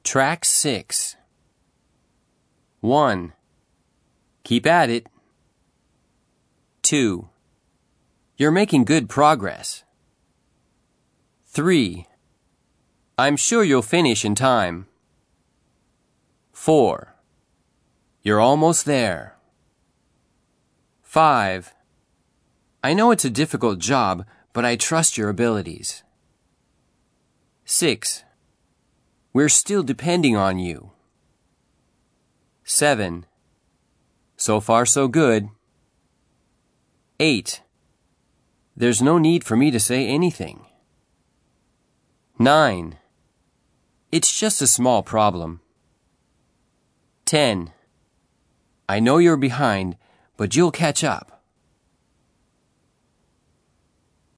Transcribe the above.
Track 6. 1. Keep at it. 2. You're making good progress. 3. I'm sure you'll finish in time. 4. You're almost there. 5. I know it's a difficult job, but I trust your abilities. 6. We're still depending on you. 7. So far so good. 8. There's no need for me to say anything. 9. It's just a small problem. 10. I know you're behind, but you'll catch up.